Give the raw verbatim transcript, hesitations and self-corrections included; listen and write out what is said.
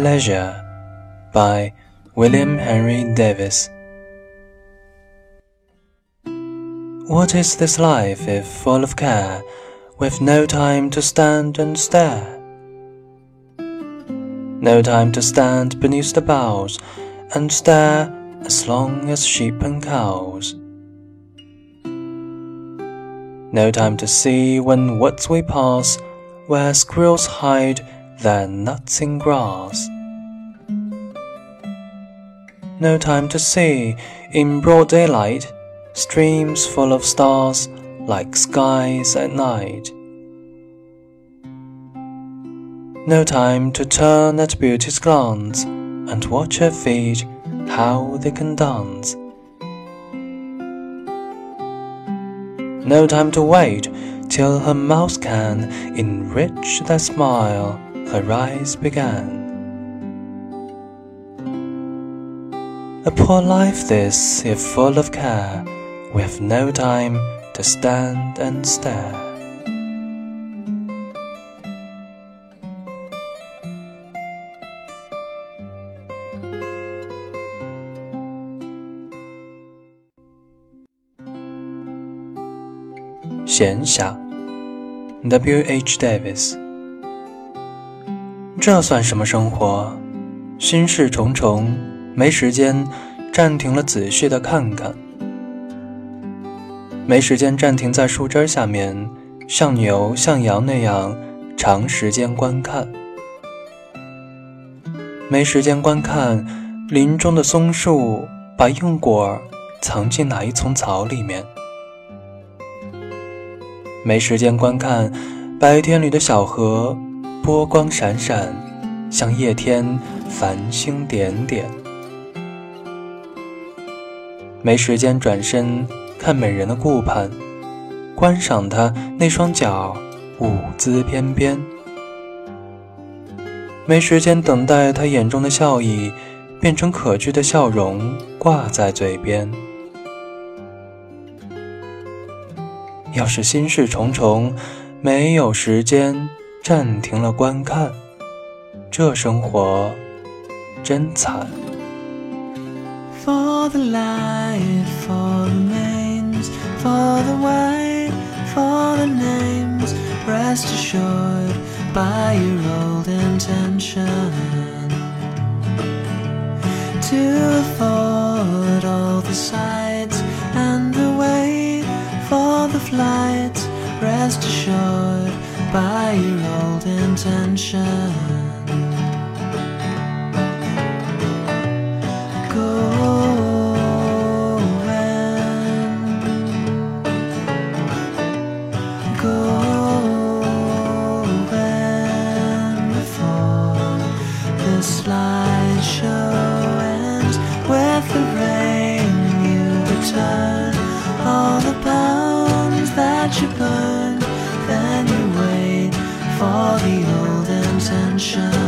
Leisure by William Henry Davis. What is this life if full of care, with no time to stand and stare? No time to stand beneath the boughs and stare as long as sheep and cows. No time to see when woods we pass, where squirrels hide their nuts in grass. No time to see, in broad daylight, streams full of stars like skies at night. No time to turn at beauty's glance and watch her feet, how they can dance. No time to wait till her mouth can enrich that smile her eyes began. A poor life this, if full of care, with no time to stand and stare. 闲暇 W H Davis。 这算什么生活？心事重重，没时间暂停了仔细的看看，没时间暂停在树枝下面像牛像羊那样长时间观看，没时间观看林中的松树把硬果藏进哪一丛草里面，没时间观看白天里的小河波光闪闪，像夜天繁星点点，没时间转身看美人的顾盼，观赏她那双脚舞姿翩翩，没时间等待她眼中的笑意变成可掬的笑容挂在嘴边。要是心事重重，没有时间暂停了观看，这生活真惨。 For the light, for the mains, for the white, for the names, rest assured by your old intention to afford all the sights and the wait for the flights, rest assured by your old intention. You burn, then you wait for the old intention.